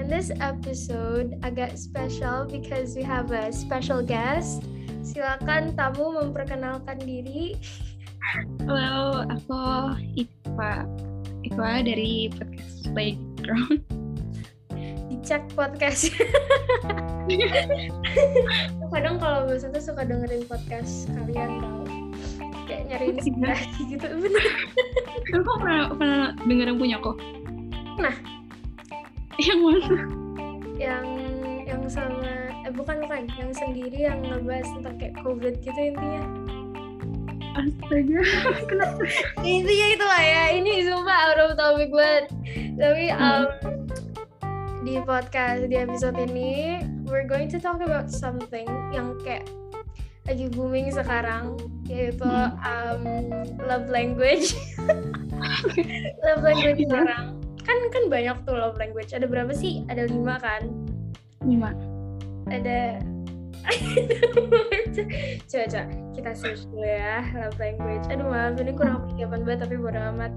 on this episode agak special because we have a special guest. Silakan tamu memperkenalkan diri. Halo, aku Iqwa dari podcast Playground. Dicek podcast. Kadang kalau misalnya suka dengerin podcast kalian tau, kayak nyari inspirasi gitu. Bener. Kamu pernah denger yang punya kok? Nah, yang mana? Yang sama bukan yang sendiri yang ngebahas tentang kayak COVID gitu intinya. Astaga, kenapa? Intinya itu lah ya. Ini sumpah out of topic banget. Tapi di podcast di episode ini we're going to talk about something yang kayak lagi booming sekarang, yaitu love language. Love language sekarang. Kan banyak tuh love language. Ada berapa sih? Ada 5 kan? 5. Ada coba kita search dulu ya, love language. Aduh maaf, ini kurang persiapan banget tapi bodo amat.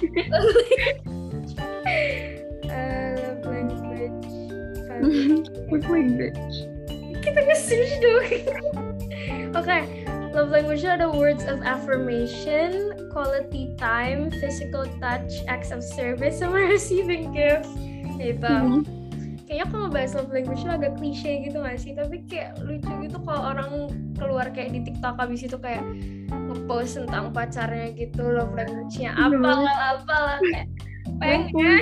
Love language. Love language. Kita nge-search dulu. Oke. Love language ada words of affirmation, quality time, physical touch, acts of service, sama receiving gifts. Itu. Kayaknya kalau ngebahas love language itu agak klise gitu gak sih? Tapi kayak lucu gitu kalau orang keluar kayak di TikTok abis itu kayak nge-post tentang pacarnya gitu, love language-nya apalah kayak pengen.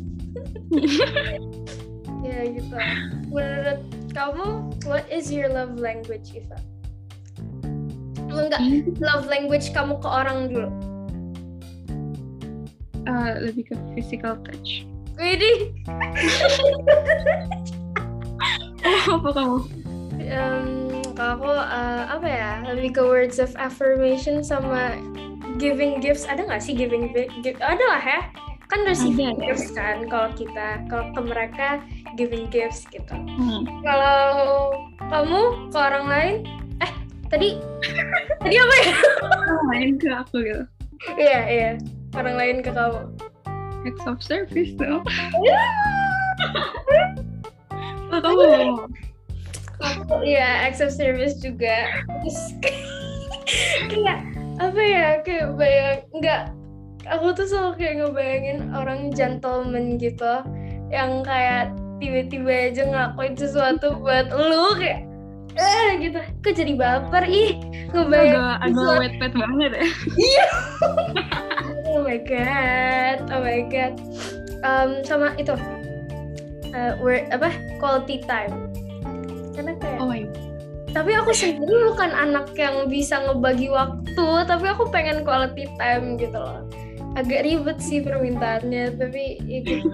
Ya gitu. Menurut kamu, what is your love language, Iva? Enggak, love language kamu ke orang dulu. Lebih ke physical touch. Widih. Apa kamu? Kalau aku apa ya? Lebih ke words of affirmation sama giving gifts. Ada nggak sih giving gift? Ada lah ya. Kan receiving gifts kan. Kalau ke mereka giving gifts gitu. Kalau kamu ke orang lain? Tadi apa ya? Orang lain ke aku gitu. Iya. Orang lain ke kamu. Acts of service tuh. Oh, kamu? Aku iya, acts of service juga. Terus kayak apa ya? Kayak aku tuh selalu kayak ngebayangin orang gentleman gitu, yang kayak tiba-tiba aja ngelakuin sesuatu buat lu kayak gitu. Kok jadi baper ngebayang agak wet banget ya. Iya. Oh my god. Sama itu quality time. Karena kayak tapi aku sendiri bukan anak yang bisa ngebagi waktu, tapi aku pengen quality time gitu loh. Agak ribet sih permintaannya, tapi ya gitu.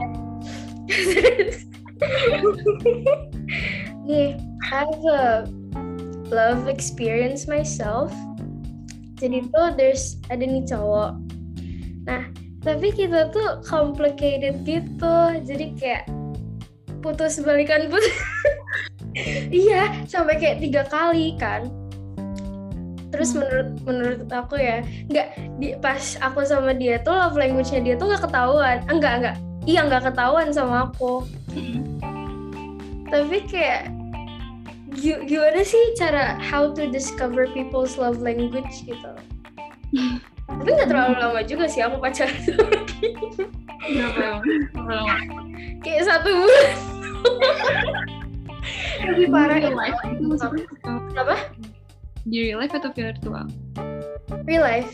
Nih, I have a love experience myself. Jadi tuh ada nih cowok. Nah, tapi kita tuh complicated gitu. Jadi kayak putus. Iya, sampai kayak 3 kali kan. Terus menurut aku ya, pas aku sama dia tuh love language-nya dia tuh nggak ketahuan. Enggak. Iya, nggak ketahuan sama aku. Tapi kayak gimana sih cara how to discover people's love language gitu. Tapi nggak terlalu lama juga sih aku pacaran sama dia. Berapa lama? Kayak 1 bulan. Lebih parah itu live itu maksudnya apa? Di real life atau virtual? Real life.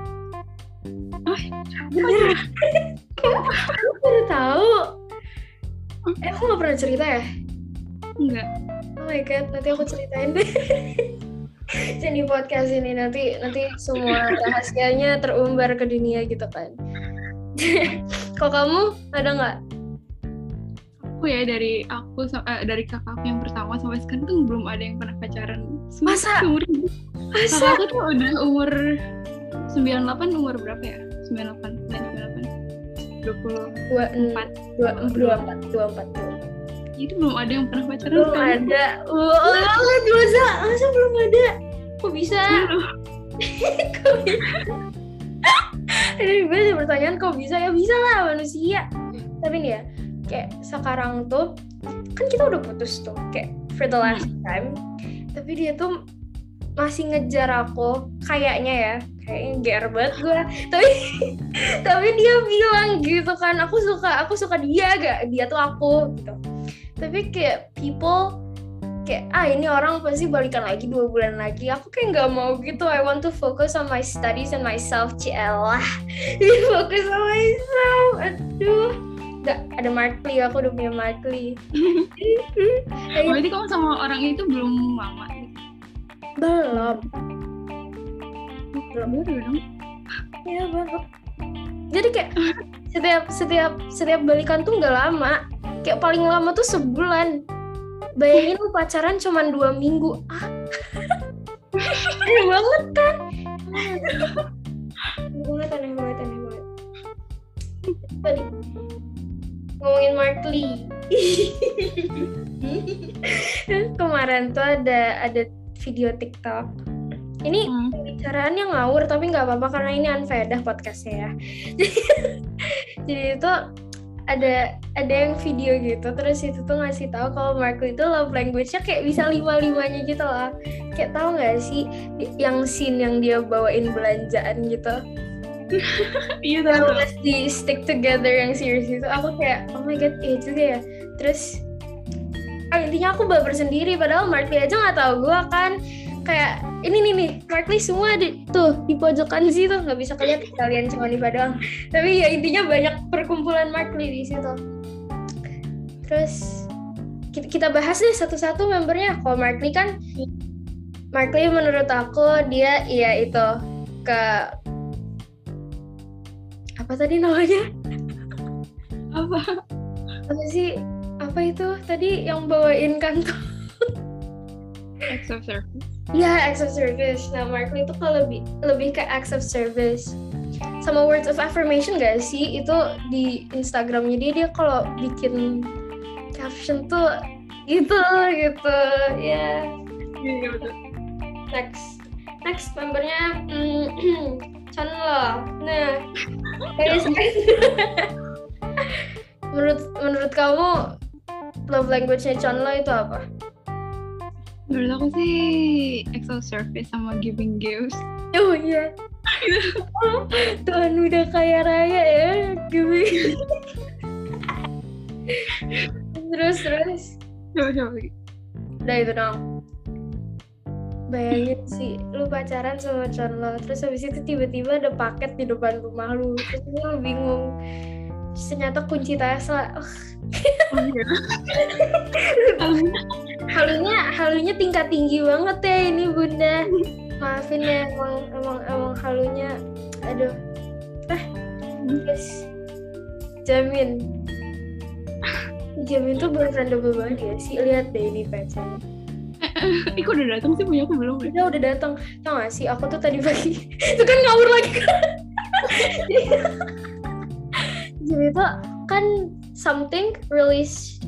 Bener. Aku baru tahu. Aku nggak pernah cerita ya? Enggak. Oh my god, nanti aku ceritain deh. Jadi podcast ini nanti semua rahasianya terumbar ke dunia gitu kan. Kok kamu ada nggak? Aku ya dari kakakku yang pertama sampai sekarang tuh belum ada yang pernah pacaran. Masa? Kakak aku tuh udah umur 98, umur berapa ya? 98, 24. Itu belum ada yang pernah pacaran. Belum ada. Masa belum ada? Kok bisa? Ini gue ada pertanyaan kok bisa? Ya bisa lah manusia. Tapi nih ya, kayak sekarang tuh kan kita udah putus tuh kayak for the last time, tapi dia tuh masih ngejar aku kayaknya GR banget gue, tapi dia bilang gitu kan, aku suka dia tuh aku gitu. Tapi kayak people kayak ini orang pasti balikan lagi 2 bulan lagi, aku kayak nggak mau gitu. I want to focus on my studies and myself. Cielah focus on myself. Aduh, ada Markly, aku udah punya Markly. Berarti kamu sama orang itu belum lama? Belum dong. Ya belum. Jadi kayak setiap balikan tuh nggak lama, kayak paling lama tuh sebulan. Bayangin lu pacaran cuma 2 minggu. Aneh banget kan? Aneh banget. Tadi ngomongin Markly. Kemarin tuh ada video TikTok. Ini bicaraannya ngawur tapi nggak apa-apa karena ini unfaedah podcastnya ya. Jadi itu ada yang video gitu, terus itu tuh ngasih tahu kalau Markly itu love language-nya kayak bisa 5-5-nya gitu loh. Kayak tahu nggak sih yang scene yang dia bawain belanjaan gitu? Iya tahu. Terus di stick together yang series itu, aku kayak oh my god iya juga ya. Terus intinya aku baper sendiri, padahal Markly aja nggak tahu gue kan. Kayak ini nih Markly semua di pojokan situ, nggak bisa kelihatan kalian cuma di doang. Tapi ya intinya banyak perkumpulan Markly di situ. Terus kita bahas deh satu-satu membernya. Kalau Markly kan, Markly menurut aku dia itu ke apa tadi namanya? Apa sih? Apa itu tadi yang bawain kantor? Acts of service. Ya, acts of service. Nah, Markly itu kalau lebih ke acts of service. Sama words of affirmation gak sih? Itu di Instagramnya dia kalau bikin caption tuh gitu. Ya. Iya betul. Next membernya Chanlo. Nah, guys. menurut kamu love language-nya Chanlo itu apa? Menurut aku sih acts of service sama giving gifts. Oh iya. Tuhan udah kaya raya ya, giving. Terus. Coba lagi. Udah itu dong. Bayangin sih, lu pacaran sama Chanlo, terus habis itu tiba-tiba ada paket di depan rumah lu, terus lu bingung. Ternyata kunci Tesla. Halunya tingkat tinggi banget ya ini Bunda. Maafin ya, emang halunya. Aduh. Terus Jamin tuh beneran double banget ya sih. Lihat deh ini pacarnya. Kok udah datang sih, punya aku belum? Udah datang. Tau gak sih, aku tuh tadi pagi itu kan ngawur lagi kan. Jadi itu kan something release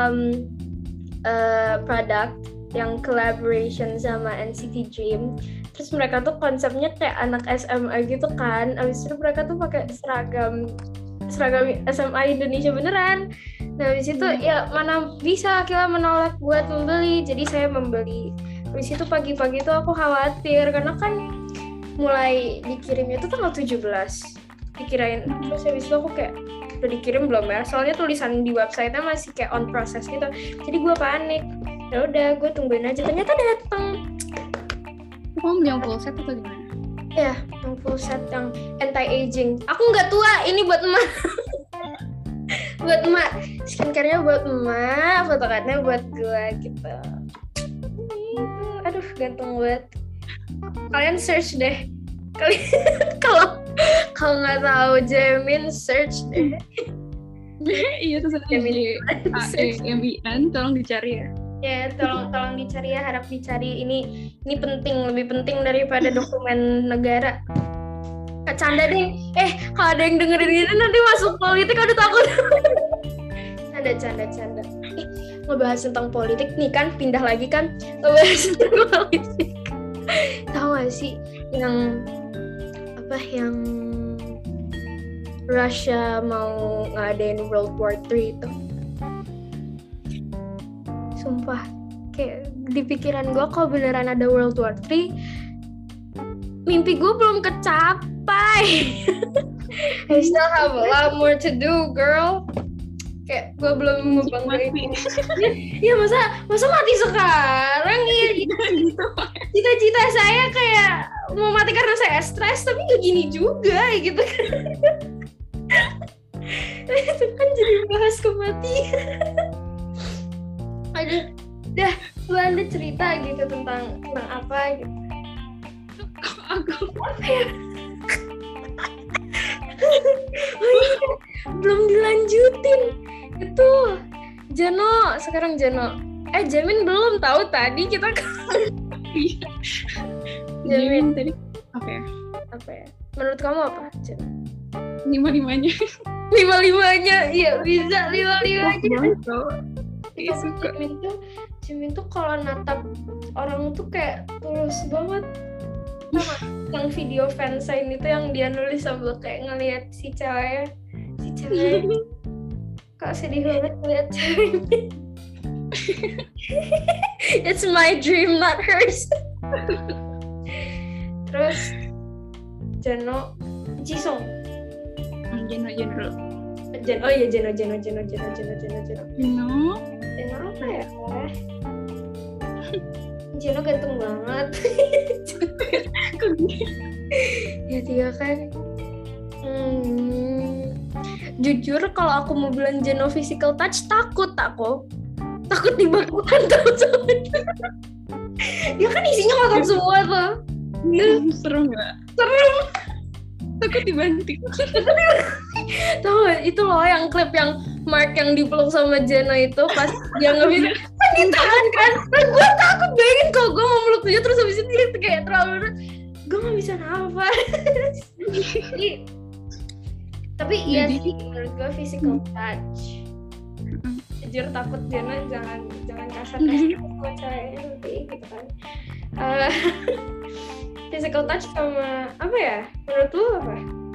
product yang collaboration sama NCT Dream. Terus mereka tuh konsepnya kayak anak SMA gitu kan. Abis itu mereka tuh pakai seragam SMA Indonesia beneran. Nah abis itu ya mana bisa Akila menolak buat membeli. Jadi saya membeli. Abis itu pagi-pagi tuh aku khawatir karena kan mulai dikirimnya tuh tanggal 17 dikirain. Terus abis itu aku kayak udah dikirim belum ya? Soalnya tulisan di website-nya masih kayak on process gitu. Jadi gue panik. Ya udah, gue tungguin aja. Ternyata datang. Kamu beli yang full set atau gimana? Ya, yang full set yang anti-aging. Aku nggak tua, ini buat emak. Buat emak. Skincare-nya buat emak, fotokartnya buat gue gitu. Aduh, ganteng banget. Kalian search deh. Kalau nggak tahu Jamin, search deh. Iya tuh JAMIN, tolong dicari ya. Ya, tolong dicari ya, harap dicari. Ini penting, lebih penting daripada dokumen negara. Canda deh. Kalau ada yang dengerin ini nanti masuk politik, aduh takut. Canda. Ngebahas tentang politik nih kan, pindah lagi kan ngebahas tentang politik. Tahu gak sih yang Russia mau ngadain World War III itu? Sumpah. Kayak di pikiran gue kalau beneran ada World War III, mimpi gue belum kecapai. I still have a lot more to do, girl. Kayak gue belum ngebanggain. Ya masa mati sekarang ya. Cita-cita saya kayak mau mati karena saya stres, tapi gak gini juga gitu kan. Itu kan jadi bahas kematian. Aduh, dah, lu ada cerita gitu tentang apa gitu. Apa ya? Oh iya, belum dilanjutin. Itu Jano, sekarang Jano. Jamin belum tahu tadi kita Jamin tadi apa ya? Menurut kamu apa, Jano? 5-5-nya. 5-5-nya, iya bisa 5-5-nya. Iya suka. Jimin tuh kalau natap orang tuh kayak tulus banget. Yang video fansign itu yang dia nulis sambil kayak ngelihat si cewek kok sedih banget ngeliat ceweknya. It's my dream, not hers. Terus Jano, Jisung. Jeno dulu. Oh iya Jeno apa ya? Jeno ganteng banget. Ya dia kan. Jujur kalau aku mau bilang Jeno physical touch, takut dibakukan tuh sama dia. Dia kan isinya kotor semua tuh. Serem nggak? Serem. Takut dibanting. Tahu itu loh yang klip yang Mark yang dipeluk sama Jeno itu pas dia ngebisa ditahan kan. Dan gue takut bayangin kalau gue mau meluk dia terus habis itu dia kayak terlalu gue nggak bisa nafas. Tapi iya sih menurut gue physical touch. Jujur takut Jeno jangan kasar sama ceweknya nanti gitu kan. Physical touch sama apa ya? Menurut lu apa?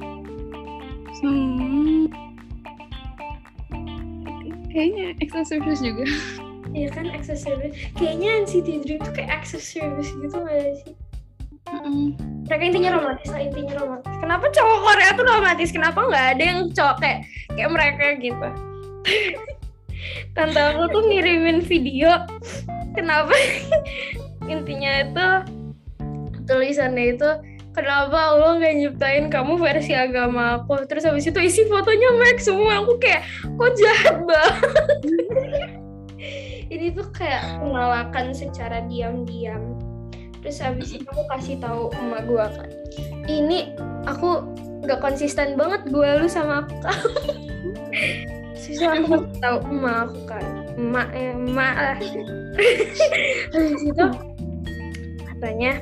Kayaknya access service juga. Iya kan access service. Kayaknya NCT Dream tuh kayak access service gitu nggak sih? Mereka intinya romantis. Kenapa cowok Korea tuh romantis? Kenapa nggak ada yang cowok kayak mereka gitu? Tante aku tuh ngirimin video. Kenapa? Intinya itu tulisannya itu kenapa Allah nggak nyiptain kamu versi agama aku, terus habis itu isi fotonya Mark semua. Aku kayak kok jahat banget. Ini tuh kayak penolakan secara diam-diam. Terus habis itu aku kasih tahu emak gue kan, ini aku nggak konsisten banget gue lu sama aku. Susah aku kasih tahu emak aku kan, emak lah. Habis itu katanya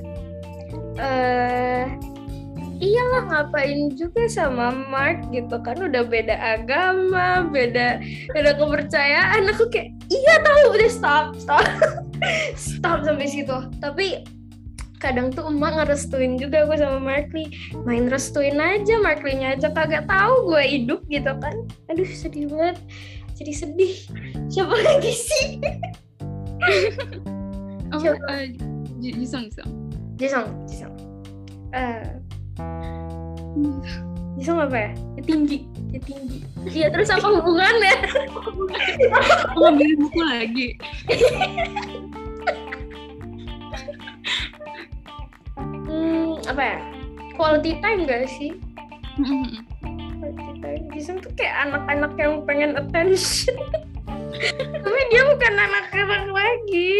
iyalah ngapain juga sama Mark gitu kan, udah beda agama, beda kepercayaan. Aku kayak iya tahu, udah stop sampai situ. Tapi kadang tuh emak ngerestuin juga gue sama Markley, main restuin aja, Markley-nya aja kagak tahu gue hidup gitu kan. Aduh sedih banget, jadi sedih. Siapa lagi sih? Jisung. Jisung apa ya? Dia tinggi. Iya, terus apa hubungannya? Mau beli buku lagi. Apa ya? Quality time gak sih? Quality time. Jisung tuh kayak anak-anak yang pengen attention. Tapi dia bukan anak-anak lagi.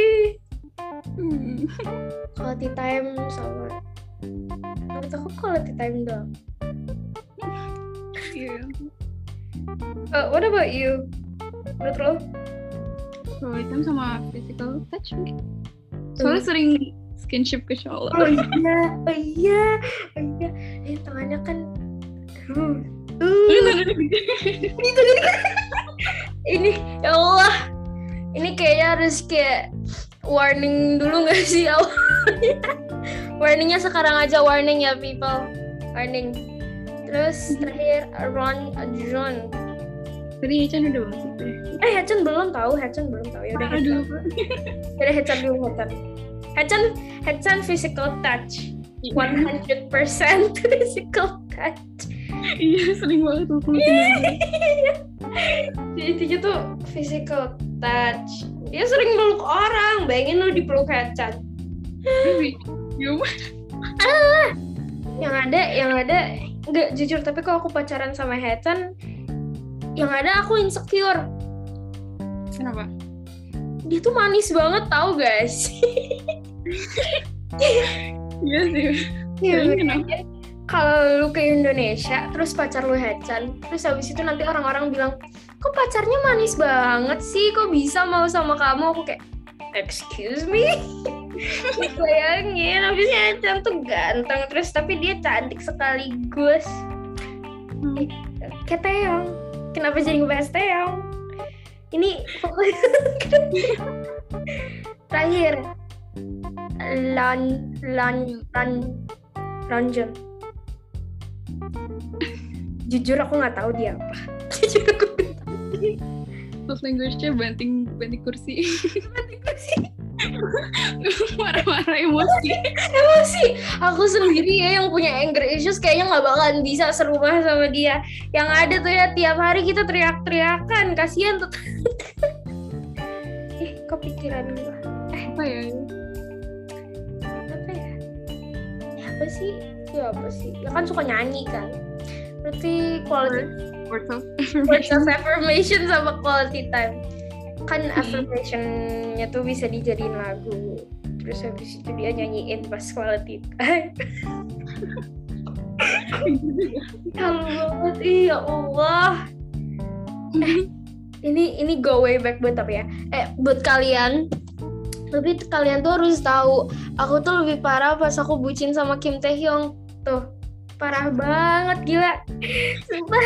Quality time sama menurut aku quality time doang. Yeah. What about you? Menurut lo? Quality time sama physical touch mungkin. Soalnya sering skinship ke cowok. Oh iya. Tangannya kan ini ya Allah. Ini kayaknya harus kayak warning dulu nggak sih awalnya? Warningnya sekarang aja, warning ya people, warning. Terus terakhir John Tadi Hechan udah belum sih? Hechan belum tahu ya udah Aduh. Hechan dulu. Hechan physical touch 100% physical touch. Iya, sering banget tuh. Intinya tuh physical touch. Dia sering meluk orang. Bayangin lu dipeluk Hechan. Yang ada nggak jujur, tapi kalau aku pacaran sama Hechan, yang ada aku insecure. Kenapa? Dia tuh manis banget, tau guys. Iya sih. Kenapa? Kalau lu ke Indonesia, terus pacar lu Hechan, terus habis itu nanti orang-orang bilang, kok pacarnya manis banget sih, kok bisa mau sama kamu? Aku kayak, excuse me? Bayangin, habisnya Hechan tuh ganteng, terus tapi dia cantik sekaligus. Kayak Taeyong. Kenapa jadi ngebahas Taeyong? Ini pokoknya terakhir Lonjong. Jujur aku nggak tahu dia apa. Jujur aku nggak tahu. Love language-nya banting kursi. Marah-marah emosi. Aku sendiri ya yang punya anger issues kayaknya nggak bakalan bisa serumah sama dia. Yang ada tuh ya tiap hari kita teriak-teriakan, kasihan tuh. Kepikiran gue. Apa ya? Apa sih? Ya kan suka nyanyi kan. Berarti words of affirmation sama quality time. Kan affirmation-nya tuh bisa dijadiin lagu. Terus habis itu dia nyanyiin pas quality time. Kalau banget, ya Allah. Ini go way back buat apa ya? Buat kalian. Tapi kalian tuh harus tahu, aku tuh lebih parah pas aku bucin sama Kim Taehyung. Tuh, parah banget, gila. Sumpah.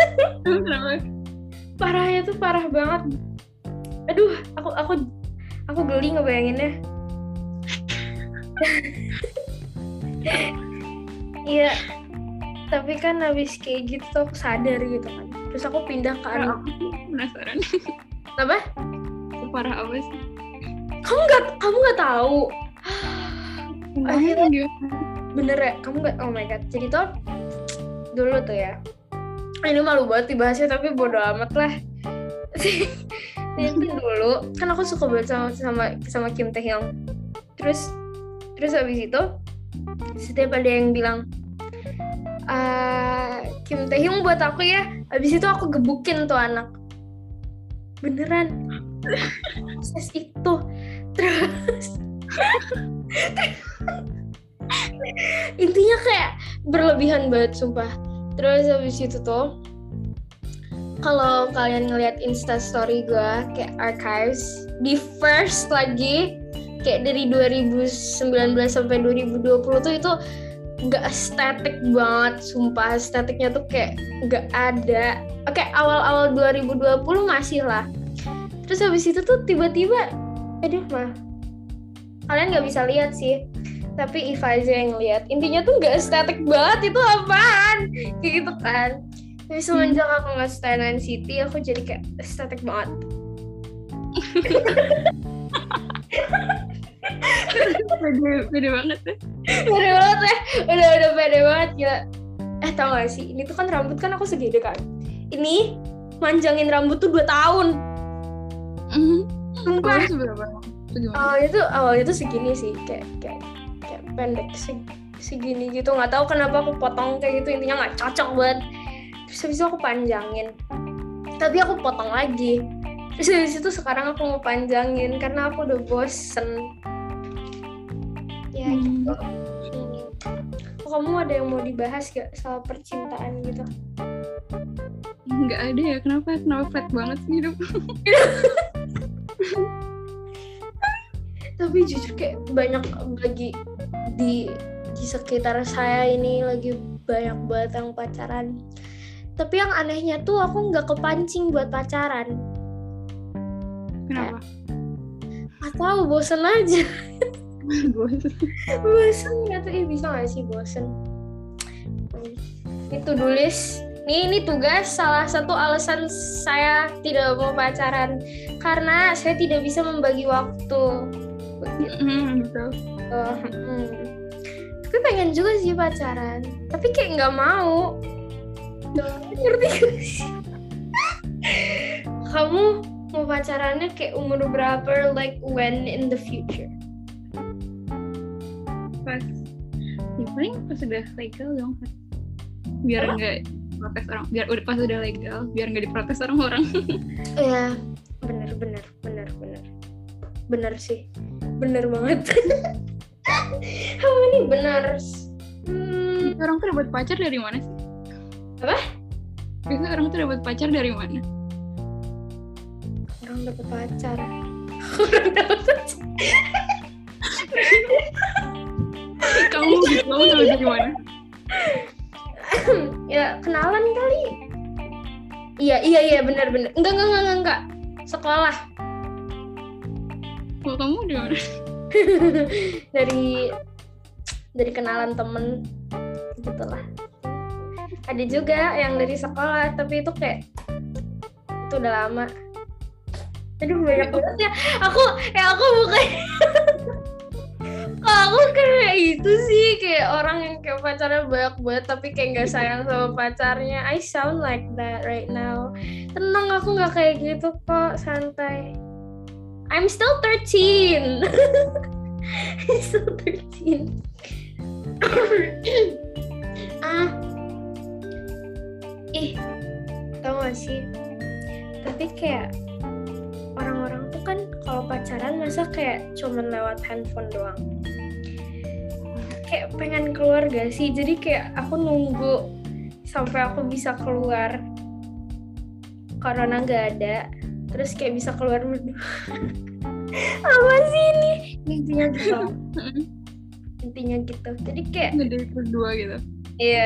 Parahnya tuh parah banget. Aduh, aku geli ngebayanginnya. Iya. Tapi kan habis kayak gitu aku sadar gitu kan. Terus aku pindah ke anak. Penasaran. Apa? Separah apa sih? Kamu nggak tahu. Akhirnya bener ya? Kamu nggak? Oh my god. Jadi tuh dulu tuh ya. Ini malu banget dibahasnya tapi bodo amat lah. Jadi dulu kan aku suka banget sama Kim Taehyung. Terus habis itu setiap ada yang bilang Kim Taehyung buat aku ya, habis itu aku gebukin tuh anak. Beneran. Proses itu. Terus intinya kayak berlebihan banget sumpah. Terus habis itu tuh kalau kalian ngeliat Instastory gue kayak archives di first lagi kayak dari 2019 sampai 2020 tuh itu gak estetik banget, sumpah. Estetiknya tuh kayak gak ada. Oke, awal-awal 2020 masih lah. Terus habis itu tuh tiba-tiba kalian gak bisa lihat sih, tapi Iva aja yang lihat. Intinya tuh gak estetik banget, itu apaan? Kayak gitu kan. Tapi semenjak aku gak stay NCT, aku jadi kayak estetik banget. Pede banget ya. Udah pede banget gila. Tau gak sih, ini tuh kan rambut kan aku segede kan. Ini manjangin rambut tuh 2 tahun. Sumpah. Awalnya tuh segini sih, kayak pendek segini gitu. Nggak tahu kenapa aku potong kayak gitu, intinya nggak cocok banget. Terus habis itu aku panjangin, tapi aku potong lagi. Terus habis itu sekarang aku mau panjangin karena aku udah bosen. Ya gitu. Kamu ada yang mau dibahas gak soal percintaan gitu? Nggak ada ya, kenapa flat banget sih hidup? Tapi jujur kayak banyak lagi di sekitar saya ini lagi banyak banget yang pacaran. Tapi yang anehnya tuh aku nggak kepancing buat pacaran. Kenapa? Gak tahu, bosen aja. Bosen nggak tuh, bisa nggak sih bosen? Itu ini tugas salah satu alasan saya tidak mau pacaran karena saya tidak bisa membagi waktu. Betul. Tapi pengen juga sih pacaran, tapi kayak nggak mau. Ngerti gak sih? Kamu mau pacarannya kayak umur berapa? Like when in the future? Pas paling pas udah legal dong, biar nggak protes orang, biar udah pas udah legal biar nggak diprotes orang-orang. Ya bener sih, bener banget. Kamu ini benar. Orang tuh dapat pacar dari mana sih? Apa? Biasanya orang tuh dapat pacar dari mana? Orang dapat pacar. Kamu dapat dari mana? Ya kenalan kali. Iya benar. Enggak. Sekolah. Kalau kamu dari mana? dari kenalan temen gitulah. Ada juga yang dari sekolah, tapi itu kayak itu udah lama. Aduh banyak banget ya. Aku bukan. Aku kayak itu sih, kayak orang yang kayak pacarnya banyak banget tapi kayak nggak sayang sama pacarnya. I sound like that right now. Tenang, aku nggak kayak gitu kok, santai. I'm still 13. I'm still 13. Tau gak sih? Tapi kayak orang-orang tuh kan kalau pacaran masa kayak cuman lewat handphone doang. Kayak pengen keluar gak sih? Jadi kayak aku nunggu sampai aku bisa keluar. Corona gak ada. Terus kayak bisa keluar berdua. Apa sih ini? Intinya gitu. Jadi kayak ngedate berdua gitu. Iya.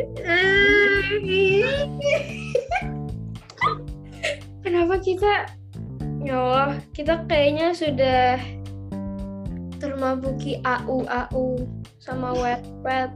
Kenapa kita? Ya Allah, kita kayaknya sudah termabuki AU sama Wattpad.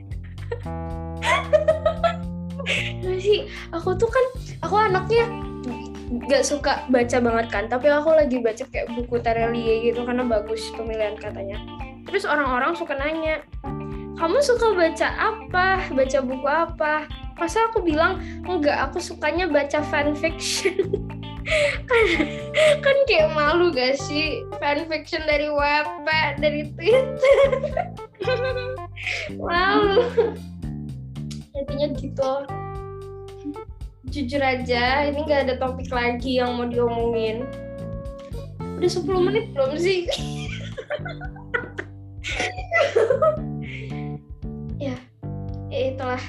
Sih, aku anaknya gak suka baca banget kan, tapi aku lagi baca kayak buku Terelie gitu karena bagus pemilihan katanya. Terus orang-orang suka nanya, kamu suka baca apa? Baca buku apa? Masa aku bilang, enggak, aku sukanya baca fanfiction. kan kayak malu gak sih? Fanfiction dari Wattpad, dari Twitter. Malu. Intinya gitu. Jujur aja, ini gak ada topik lagi yang mau diomongin. Udah 10 menit belum sih? Ya itulah.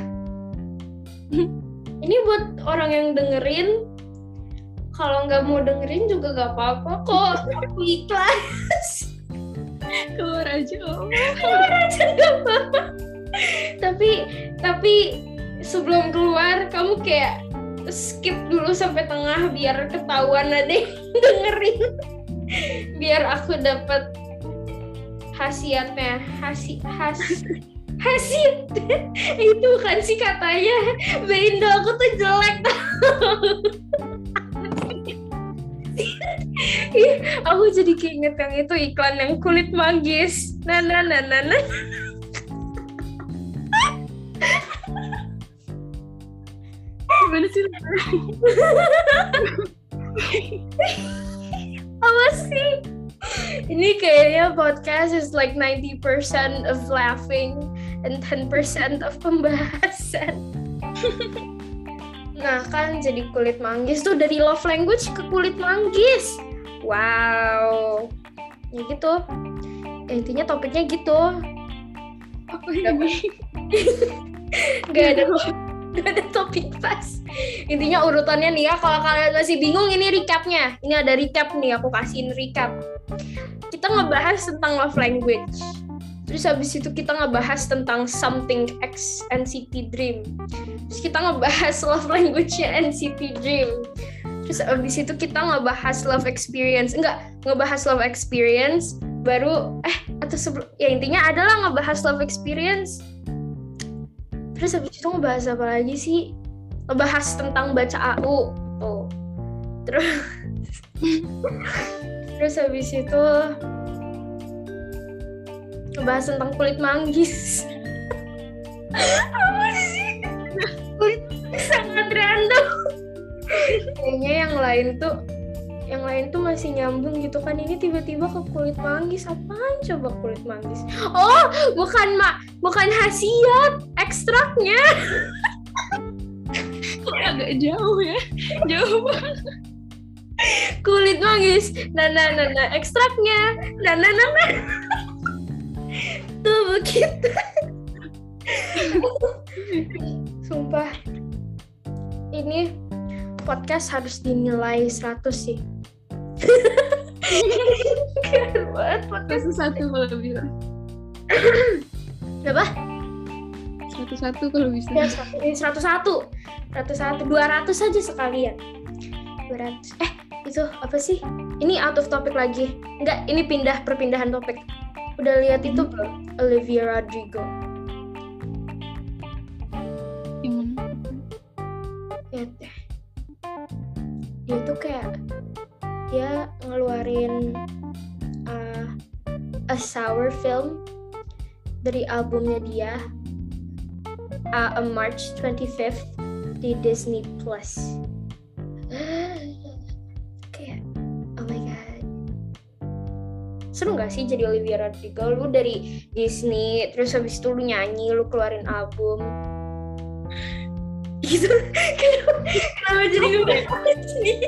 Ini buat orang yang dengerin. Kalau nggak mau dengerin juga gak apa-apa kok. Aku ikhlas. Keluar aja gak apa-apa. Tapi sebelum keluar kamu kayak skip dulu sampai tengah biar ketahuan ada yang dengerin. Biar aku dapat khasiatnya. Hasil itu kan sih katanya. Bendo aku tuh jelek. Aku jadi keinget yang itu iklan yang kulit manggis. Nah. Gimana sih? Apa sih? Ini kayaknya podcast is like 90% of laughing and 10% of pembahasan. Nah kan jadi kulit manggis tuh dari love language ke kulit manggis. Wow. Ya gitu. Ya, intinya topiknya gitu. Apa ini? Gak ada topik pas. Intinya urutannya nih ya, kalau kalian masih bingung ini recapnya. Ini ada recap nih, aku kasihin recap. Kita ngebahas tentang love language. Terus habis itu kita ngebahas tentang something X NCT Dream. Terus kita ngebahas love language-nya NCT Dream. Terus habis itu kita ngebahas love experience. Ngebahas love experience baru atau sebelum ya intinya adalah ngebahas love experience. Terus habis itu ngebahas apa lagi sih? ngebahas tentang baca AU tuh. Terus habis itu ngebahas tentang kulit manggis. Apa sih? Kulit manggis sangat random. Kayaknya yang lain tuh masih nyambung gitu kan, ini tiba-tiba ke kulit manggis. Apaan coba kulit manggis? Oh, bukan hasiat, ekstraknya. Agak jauh ya, jauh banget. Kulit manggis, nah, ekstraknya, nah. Tuh begitu. Sumpah, ini podcast harus dinilai 100 sih. Keren banget podcast. 101 kalau bisa. Berapa? 101 kalau bisa. Ya, 101. 200 aja sekalian. 200. Itu apa sih? Ini out of topic lagi. Enggak, ini perpindahan topik. Udah lihat itu belum? Olivia Rodrigo. Gimana? Lihat deh. Dia tuh kayak dia ngeluarin a sour film dari albumnya dia March 25th di Disney Plus. Kayak oh my god, seru gak sih jadi Olivia Rodrigo? Lu dari Disney, terus habis itu lu nyanyi, lu keluarin album gitu. Kenapa jadi ngebahas nih?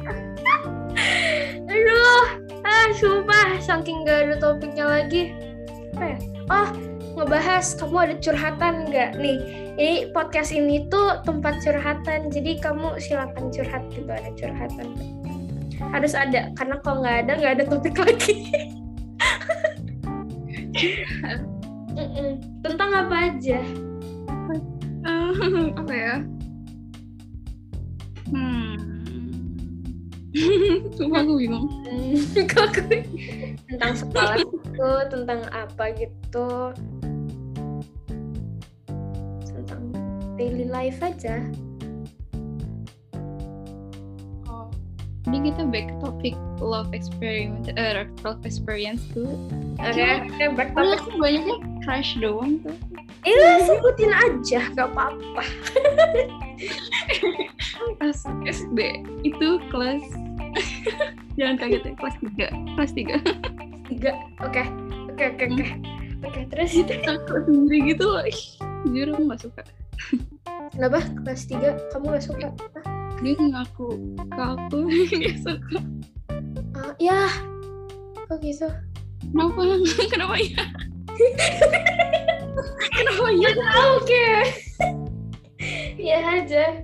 Aduh, sumpah saking gak ada topiknya lagi. Apa ya? Oh, ngebahas kamu ada curhatan nggak nih? Ini podcast ini tuh tempat curhatan, jadi kamu silakan curhat gitu, ada curhatan. Harus ada, karena kalau nggak ada topik lagi. Tentang apa aja? Apa ya? Sumpah aku bingung. Tentang sekolah gitu, tentang apa gitu, tentang daily life aja. Oh, ini kita back to topic love experience tuh. Oke, back to topic. Banyaknya crush doang tuh. Sebutin aja, gak apa-apa. Pas SD itu kelas jangan kaget ya, kelas 3. Oke, terus itu aku sendiri gitu loh. Jujur aku gak suka. kenapa kelas 3 kamu gak suka? Dia ngaku ke aku gak suka. Ya kok gitu? Kenapa ya? Kenapa ya? Oke. Ya aja.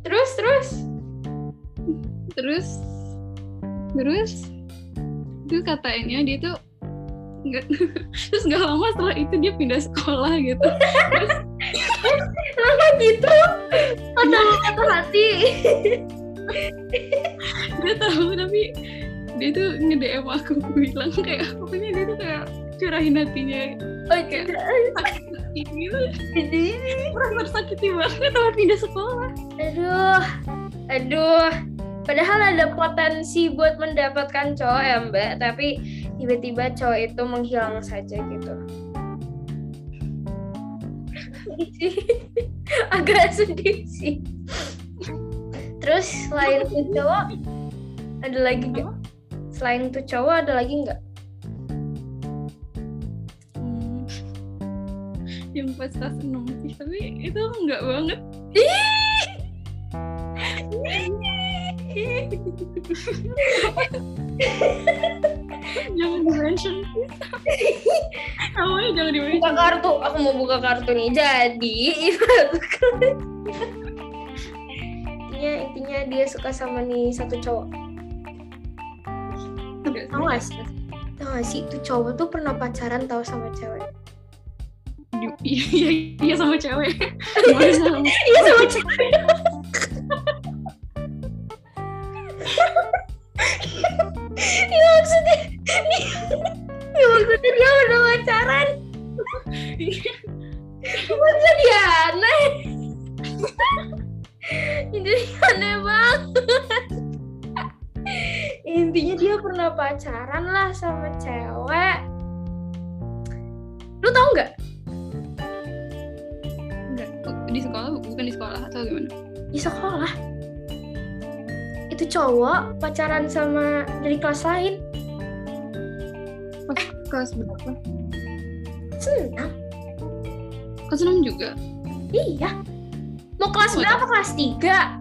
Terus itu katanya dia tuh terus nggak lama setelah itu dia pindah sekolah gitu. lama gitu patah hati. Dia tahu, tapi dia tuh nge-DM aku bilang kayak pokoknya dia tuh kayak curahin hatinya. Kayak sakit gitu. Merasa tersakiti banget sama pindah sekolah. Aduh. Padahal ada potensi buat mendapatkan cowok ya Mbak, tapi tiba-tiba cowok itu menghilang saja gitu. Agak sedih sih. Terus selain itu cowok, ada lagi nggak? Selain itu cowok ada lagi nggak? Yang pas kelas 6 sih, tapi itu enggak banget. Jangan di-mention. Namanya jangan di-mention. Buka kartu, aku mau buka kartu nih. Jadi intinya dia suka sama nih satu cowok. Tahu gak sih itu cowok tuh pernah pacaran tahu sama cewek. Iya sama cewek. Iya sama cewek. Ya maksudnya dia udah pacaran. Maksudnya dia aneh. Jadi aneh banget. Intinya dia pernah pacaran lah sama cewek. Lu tau nggak? Enggak. Di sekolah, bukan di sekolah atau gimana? Di sekolah. Itu cowok pacaran sama dari kelas lain. Kelas berapa? Senang. Kelas 6 juga? Iya. Mau kelas berapa? Kelas 3.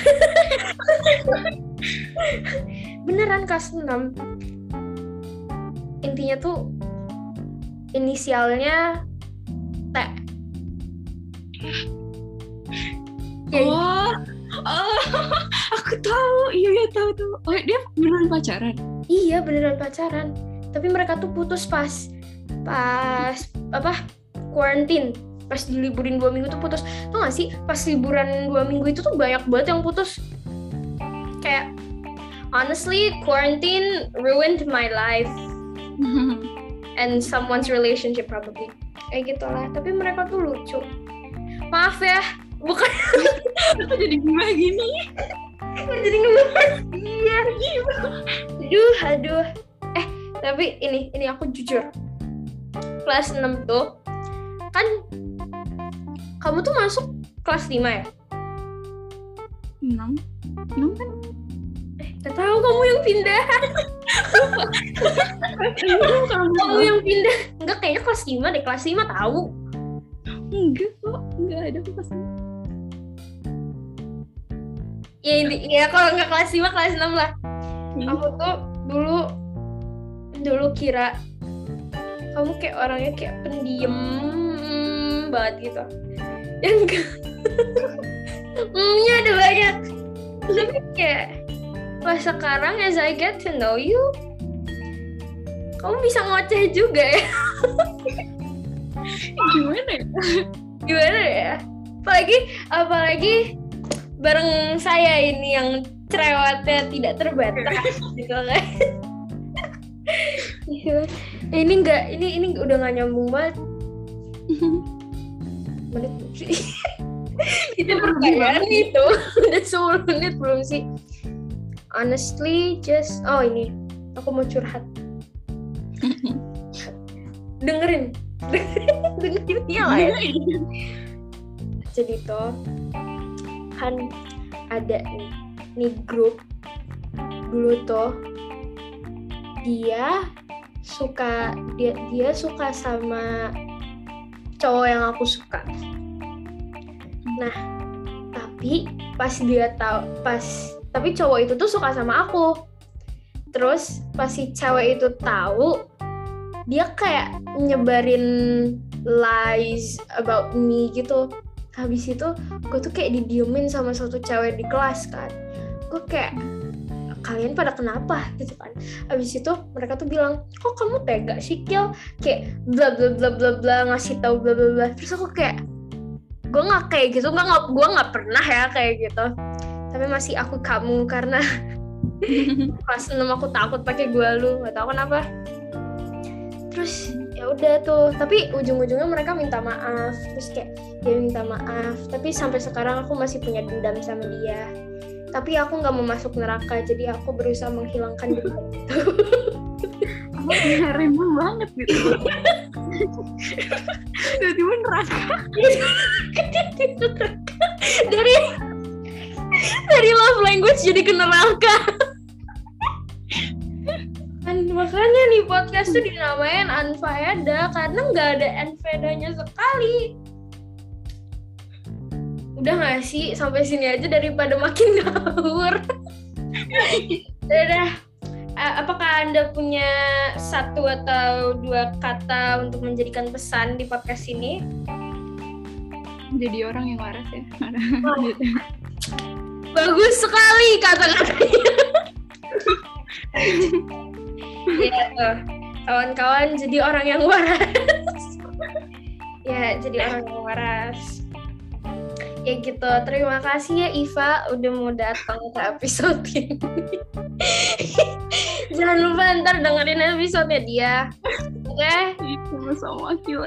Beneran kelas 6. Intinya tuh inisialnya T. Oh, aku tahu. Iya tahu. Oh, dia beneran pacaran? Iya, beneran pacaran. Tapi mereka tuh putus pas quarantine. Pas diliburin 2 minggu tuh putus. Tuh gak sih, pas liburan 2 minggu itu tuh banyak banget yang putus. Kayak, honestly, quarantine ruined my life. And someone's relationship probably. Kayak gitu lah. Tapi mereka tuh lucu. Maaf ya, bukan. Kenapa jadi gini? Jadi ngebahas dia. Aduh. Tapi ini aku jujur. Kelas 6 tuh, kan kamu tuh masuk kelas 5 ya? 6 kan? Gak tahu, kamu yang pindah. Kamu yang pindah. Enggak, kayaknya kelas 5 deh. Kelas 5 tahu. Enggak kok, enggak ada kelas 5. Ya kalau enggak kelas 5, kelas 6 lah. Aku tuh dulu kira kamu kayak orangnya kayak pendiam banget gitu. Yang nya ada banyak. Tapi kayak pas sekarang as I get to know you, kamu bisa ngoceh juga ya. Gimana ya? Apalagi bareng saya ini yang cerewetnya tidak terbatas gitu kan. Ini udah gak nyambung banget. Menit belum sih? Itu pertanyaan itu udah 10 menit belum sih? Honestly, ini aku mau curhat. Dengerin ya lah ya. Jadi tuh kan ada nih grup dulu tuh, dia suka sama cowok yang aku suka. Nah, tapi cowok itu tuh suka sama aku. Terus pas si cewek itu tahu, dia kayak nyebarin lies about me gitu. Habis itu gue tuh kayak didiemin sama satu cewek di kelas kan. Gue kayak, kalian pada kenapa gitu kan. Habis itu mereka tuh bilang, kok kamu tega sih Kil, kayak bla bla bla bla bla, ngasih tahu bla bla bla. Terus aku kayak, gue nggak kayak gitu, gue nggak pernah ya kayak gitu. Tapi masih aku kamu karena kelas 6 aku takut pakai gue lu, nggak tahu kenapa. Terus ya udah tuh, tapi ujung-ujungnya mereka minta maaf. Terus kayak dia minta maaf, tapi sampai sekarang aku masih punya dendam sama dia. Tapi aku nggak mau masuk neraka, jadi aku berusaha menghilangkan dendam itu. Aku random banget gitu. Tiba-tiba neraka. Dari love language jadi ke neraka. Makanya nih podcast tuh dinamain Unfaedah karena nggak ada unfaedahnya sekali. Udah nggak sih, sampai sini aja daripada makin ngawur. Udah. Apakah Anda punya 1 atau 2 kata untuk menjadikan pesan di podcast ini? Jadi orang yang waras ya. Bagus sekali kata-katanya. Ya tuh, kawan-kawan jadi orang yang waras. Ya, jadi orang yang waras. Ya gitu, terima kasih ya Iva udah mau datang ke episode ini. Jangan lupa ntar dengerin episode-nya dia. Oke? Sama-sama Akila.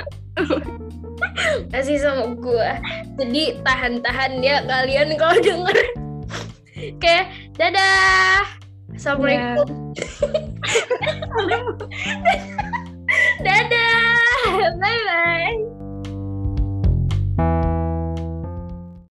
Kasih sama gue. Jadi tahan-tahan ya kalian kalau denger. Oke, dadah. Assalamualaikum.